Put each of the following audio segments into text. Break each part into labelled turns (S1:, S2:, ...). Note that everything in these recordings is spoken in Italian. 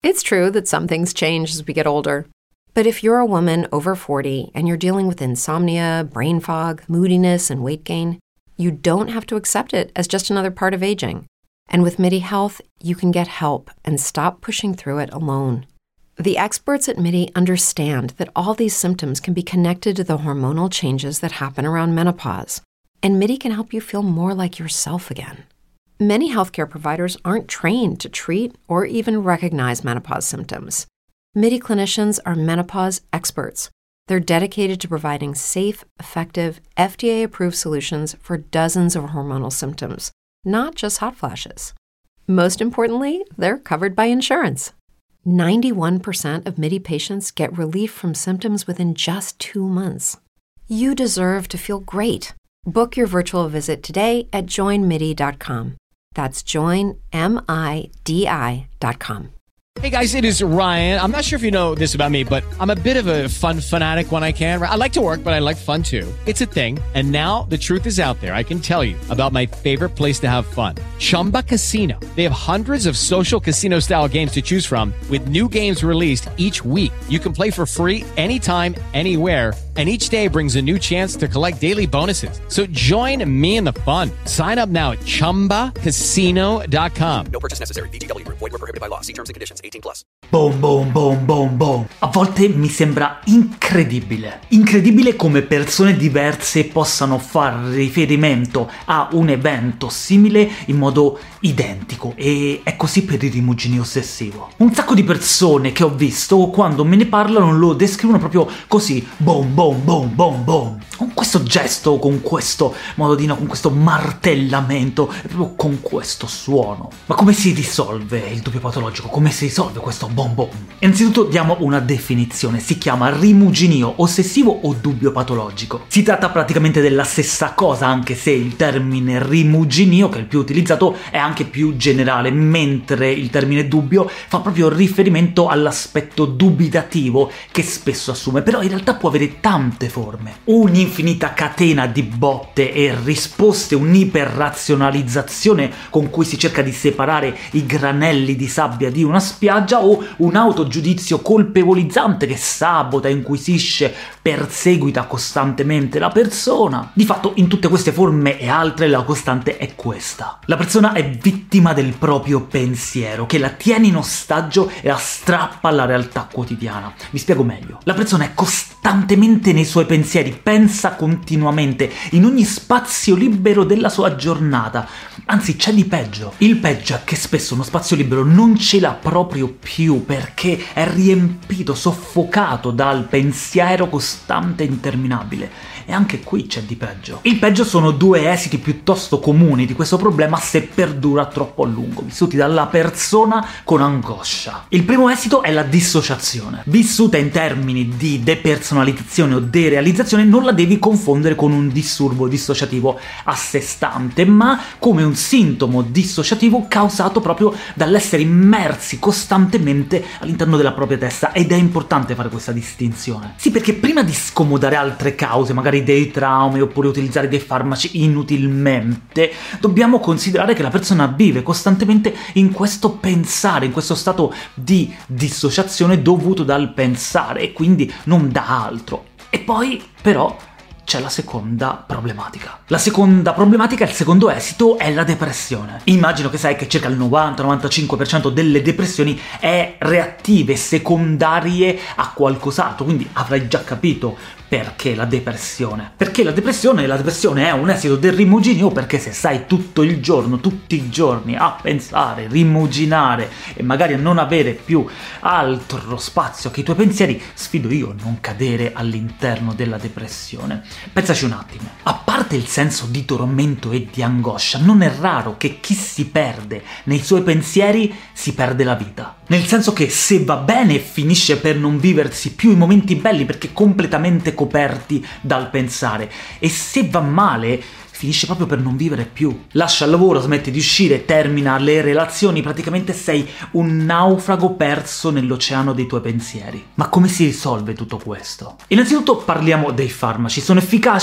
S1: It's true that some things change as we get older. But if you're a woman over 40 and you're dealing with insomnia, brain fog, moodiness, and weight gain, you don't have to accept it as just another part of aging. And with MIDI Health, you can get help and stop pushing through it alone. The experts at MIDI understand that all these symptoms can be connected to the hormonal changes that happen around menopause, and MIDI can help you feel more like yourself again. Many healthcare providers aren't trained to treat or even recognize menopause symptoms. MIDI clinicians are menopause experts. They're dedicated to providing safe, effective, FDA-approved solutions for dozens of hormonal symptoms, not just hot flashes. Most importantly, they're covered by insurance. 91% of MIDI patients get relief from symptoms within just 2 months. You deserve to feel great. Book your virtual visit today at joinmidi.com. That's joinmidi.com.
S2: Hey guys, it is Ryan. I'm not sure if you know this about me, but I'm a bit of a fun fanatic when I can. I like to work, but I like fun too. It's a thing. And now the truth is out there. I can tell you about my favorite place to have fun. Chumba Casino. They have hundreds of social casino style games to choose from with new games released each week. You can play for free anytime, anywhere. And each day brings a new chance to collect daily bonuses. So join me in the fun. Sign up now at ChumbaCasino.com.
S3: No purchase necessary. VGW Group. Void where prohibited by law. See terms and conditions. 18+.
S4: Boom, boom, boom, boom, boom. A volte mi sembra incredibile. Incredibile come persone diverse possano far riferimento a un evento simile in modo identico. E è così per il rimuginio ossessivo. Un sacco di persone che ho visto, quando me ne parlano, lo descrivono proprio così. Boom, boom, boom, boom, boom. Con questo gesto, con questo modo di no, con questo martellamento, proprio con questo suono. Ma come si risolve il dubbio patologico? Come si risolve questo boom boom? Innanzitutto diamo una definizione. Si chiama rimuginio ossessivo o dubbio patologico. Si tratta praticamente della stessa cosa, anche se il termine rimuginio, che è il più utilizzato, è anche più generale, mentre il termine dubbio fa proprio riferimento all'aspetto dubitativo che spesso assume, però in realtà può avere tante forme. Un'infinita catena di botte e risposte, un'iperrazionalizzazione con cui si cerca di separare i granelli di sabbia di una spiaggia, o un autogiudizio colpevolizzante che sabota, inquisisce, perseguita costantemente la persona. Di fatto, in tutte queste forme e altre, la costante è questa: la persona è vittima del proprio pensiero, che la tiene in ostaggio e la strappa alla realtà quotidiana. Vi spiego meglio. La persona è costantemente nei suoi pensieri, pensa continuamente, in ogni spazio libero della sua giornata. Anzi, c'è di peggio. Il peggio è che spesso uno spazio libero non ce l'ha proprio più, perché è riempito, soffocato dal pensiero costante e interminabile. E anche qui c'è di peggio. Il peggio sono due esiti piuttosto comuni di questo problema se perdura troppo a lungo, vissuti dalla persona con angoscia. Il primo esito è la dissociazione. Vissuta in termini di depersonalizzazione o derealizzazione, non la devi confondere con un disturbo dissociativo a sé stante, ma come un sintomo dissociativo causato proprio dall'essere immersi costantemente all'interno della propria testa. Ed è importante fare questa distinzione. Sì, perché prima di scomodare altre cause, magari dei traumi oppure utilizzare dei farmaci inutilmente, dobbiamo considerare che la persona vive costantemente in questo pensare, in questo stato di dissociazione dovuto dal pensare, e quindi non da altro. E poi però c'è la seconda problematica. La seconda problematica, il secondo esito, è la depressione. Immagino che sai che circa il 90-95% delle depressioni è reattive, secondarie a qualcos'altro, quindi avrai già capito perché la depressione. Perché la depressione è un esito del rimuginio, perché se stai tutto il giorno, tutti i giorni a pensare, rimuginare e magari a non avere più altro spazio che i tuoi pensieri, sfido io a non cadere all'interno della depressione. Pensaci un attimo. A parte il senso di tormento e di angoscia, non è raro che chi si perde nei suoi pensieri si perde la vita. Nel senso che se va bene finisce per non viversi più i momenti belli perché completamente coperti dal pensare, e se va male finisce proprio per non vivere più. Lascia il lavoro, smette di uscire, termina le relazioni, praticamente sei un naufrago perso nell'oceano dei tuoi pensieri. Ma come si risolve tutto questo? Innanzitutto parliamo dei farmaci. Sono efficaci?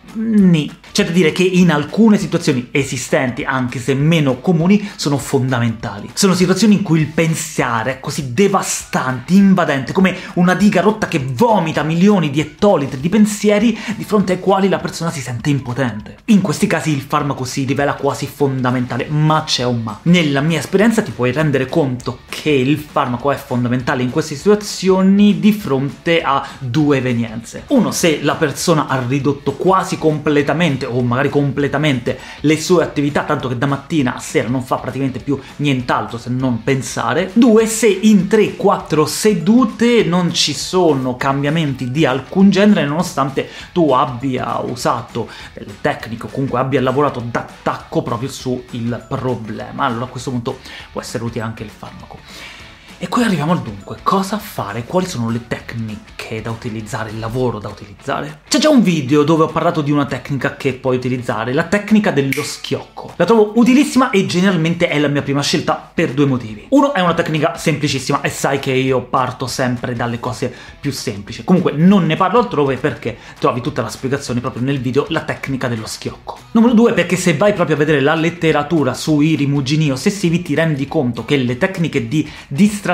S4: C'è da dire che in alcune situazioni esistenti, anche se meno comuni, sono fondamentali. Sono situazioni in cui il pensare è così devastante, invadente, come una diga rotta che vomita milioni di ettolitri di pensieri di fronte ai quali la persona si sente impotente. In questi casi il farmaco si rivela quasi fondamentale, ma c'è un ma. Nella mia esperienza ti puoi rendere conto che il farmaco è fondamentale in queste situazioni di fronte a due evenienze. Uno, se la persona ha ridotto quasi completamente o magari completamente le sue attività, tanto che da mattina a sera non fa praticamente più nient'altro se non pensare. Due, se in 3-4 sedute non ci sono cambiamenti di alcun genere, nonostante tu abbia usato delle tecniche o comunque abbia lavorato d'attacco proprio sul problema. Allora a questo punto può essere utile anche il farmaco. E qui arriviamo al dunque, cosa fare? Quali sono le tecniche da utilizzare, il lavoro da utilizzare? C'è già un video dove ho parlato di una tecnica che puoi utilizzare, la tecnica dello schiocco. La trovo utilissima e generalmente è la mia prima scelta per due motivi. Uno, è una tecnica semplicissima e sai che io parto sempre dalle cose più semplici. Comunque non ne parlo altrove perché trovi tutta la spiegazione proprio nel video, la tecnica dello schiocco. Numero due, perché se vai proprio a vedere la letteratura sui rimuginii ossessivi ti rendi conto che le tecniche di distrazione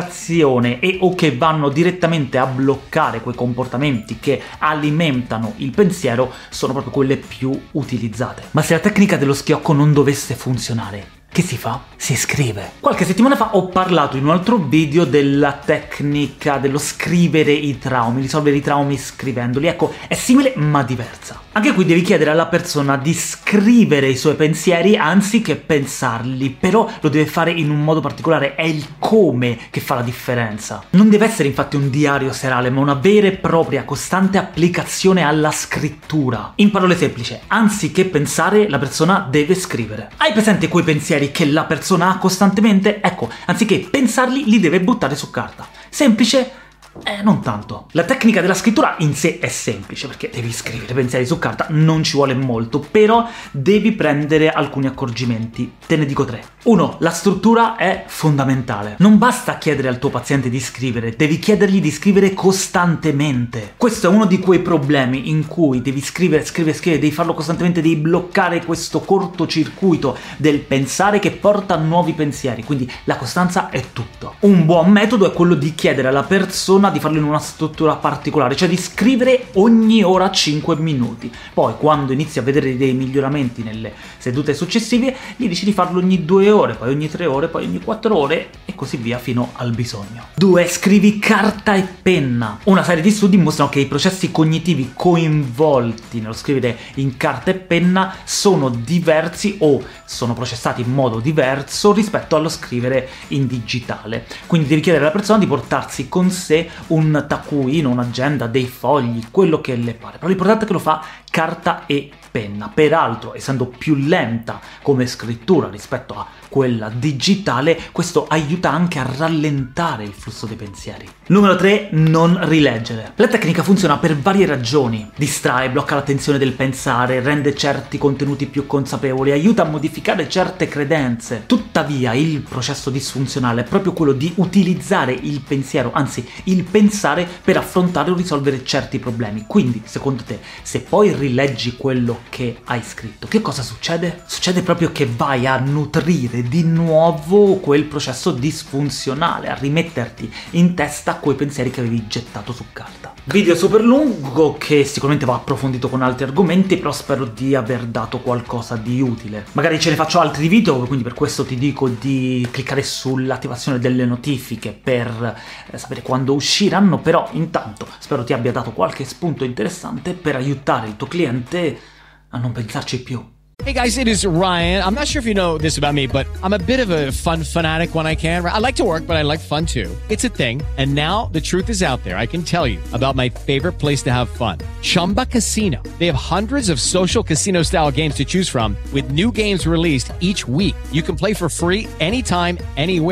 S4: o che vanno direttamente a bloccare quei comportamenti che alimentano il pensiero sono proprio quelle più utilizzate. Ma se la tecnica dello schiocco non dovesse funzionare, che si fa? Si scrive. Qualche settimana fa ho parlato in un altro video della tecnica dello scrivere i traumi, risolvere i traumi scrivendoli. Ecco, è simile ma diversa. Anche qui devi chiedere alla persona di scrivere i suoi pensieri anziché pensarli, però lo deve fare in un modo particolare, è il come che fa la differenza. Non deve essere infatti un diario serale, ma una vera e propria costante applicazione alla scrittura. In parole semplici, anziché pensare, la persona deve scrivere. Hai presente quei pensieri che la persona ha costantemente? Ecco, anziché pensarli, li deve buttare su carta. Semplice? Non tanto. La tecnica della scrittura in sé è semplice, perché devi scrivere pensieri su carta, non ci vuole molto, però devi prendere alcuni accorgimenti. Te ne dico 3. 1. La struttura è fondamentale. Non basta chiedere al tuo paziente di scrivere, devi chiedergli di scrivere costantemente. Questo è uno di quei problemi in cui devi scrivere, devi farlo costantemente, devi bloccare questo cortocircuito del pensare che porta a nuovi pensieri, quindi la costanza è tutto. Un buon metodo è quello di chiedere alla persona di farlo in una struttura particolare, cioè di scrivere ogni ora 5 minuti. Poi quando inizi a vedere dei miglioramenti nelle sedute successive, gli dici di farlo ogni 2 ore, poi ogni 3 ore, poi ogni 4 ore e così via fino al bisogno. 2. Scrivi carta e penna. Una serie di studi mostrano che i processi cognitivi coinvolti nello scrivere in carta e penna sono diversi o sono processati in modo diverso rispetto allo scrivere in digitale. Quindi devi chiedere alla persona di portarsi con sé un taccuino, un'agenda, dei fogli, quello che le pare, però l'importante è che lo fa carta e penna. Peraltro, essendo più lenta come scrittura rispetto a quella digitale, questo aiuta anche a rallentare il flusso dei pensieri. Numero 3. Non rileggere. La tecnica funziona per varie ragioni. Distrae, blocca l'attenzione del pensare, rende certi contenuti più consapevoli, aiuta a modificare certe credenze. Tuttavia, il processo disfunzionale è proprio quello di utilizzare il pensiero, anzi il pensare, per affrontare o risolvere certi problemi. Quindi, secondo te, se poi rileggi quello che hai scritto, che cosa succede? Succede proprio che vai a nutrire di nuovo quel processo disfunzionale, a rimetterti in testa quei pensieri che avevi gettato su carta. Video super lungo che sicuramente va approfondito con altri argomenti, però spero di aver dato qualcosa di utile. Magari ce ne faccio altri video, quindi per questo ti dico di cliccare sull'attivazione delle notifiche per sapere quando usciranno, però intanto spero ti abbia dato qualche spunto interessante per aiutare il tuo cliente a non pensarci più.
S2: Hey guys, it is Ryan. I'm not sure if you know this about me, but I'm a bit of a fun fanatic when I can. I like to work, but I like fun too. It's a thing. And now the truth is out there. I can tell you about my favorite place to have fun. Chumba Casino. They have hundreds of social casino style games to choose from with new games released each week. You can play for free anytime, anywhere.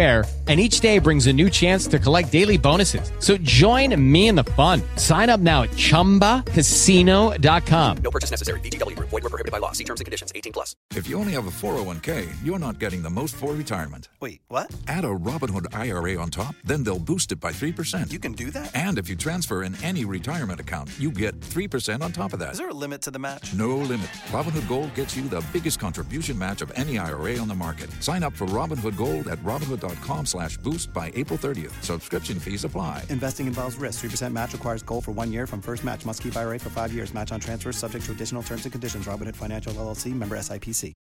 S2: And each day brings a new chance to collect daily bonuses. So join me in the fun. Sign up now at ChumbaCasino.com.
S3: No purchase necessary. VGW Group. Void where prohibited by law. See terms and conditions. 18+.
S5: If you only have a 401k, you're not getting the most for retirement.
S6: Wait, what?
S5: Add a Robinhood IRA on top, then they'll boost it by 3%.
S6: You can do that?
S5: And if you transfer in any retirement account, you get 3% on top of that.
S6: Is there a limit to the match?
S5: No limit. Robinhood Gold gets you the biggest contribution match of any IRA on the market. Sign up for Robinhood Gold at Robinhood.com/boost by April 30th. Subscription fees apply.
S6: Investing involves risk. 3% match requires gold for 1 year from first match. Must keep IRA for 5 years. Match on transfers subject to additional terms and conditions. Robinhood Financial LLC, member SIPC.